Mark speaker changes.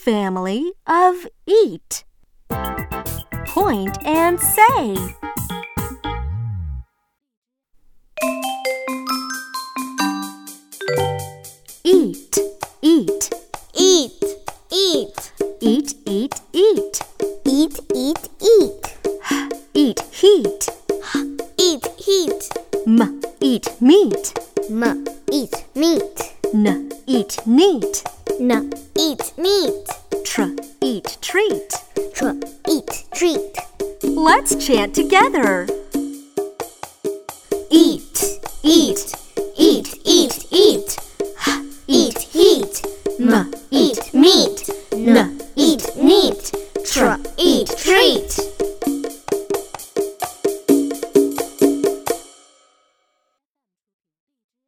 Speaker 1: family of eat. Point and say. Eat, eat.
Speaker 2: Eat, eat.
Speaker 1: Eat, eat, eat.
Speaker 2: Eat, eat, eat.
Speaker 1: Eat heat.
Speaker 2: Eat, heat.
Speaker 1: Eat meat.
Speaker 2: Eat, meat.
Speaker 1: Eat neat.